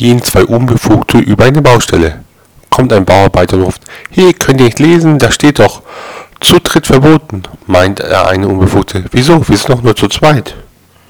Gehen zwei Unbefugte über eine Baustelle. Kommt ein Bauarbeiter und ruft: Hey, könnt ihr nicht lesen? Da steht doch: Zutritt verboten. Meint der eine Unbefugte: Wieso? Wir sind doch nur zu zweit.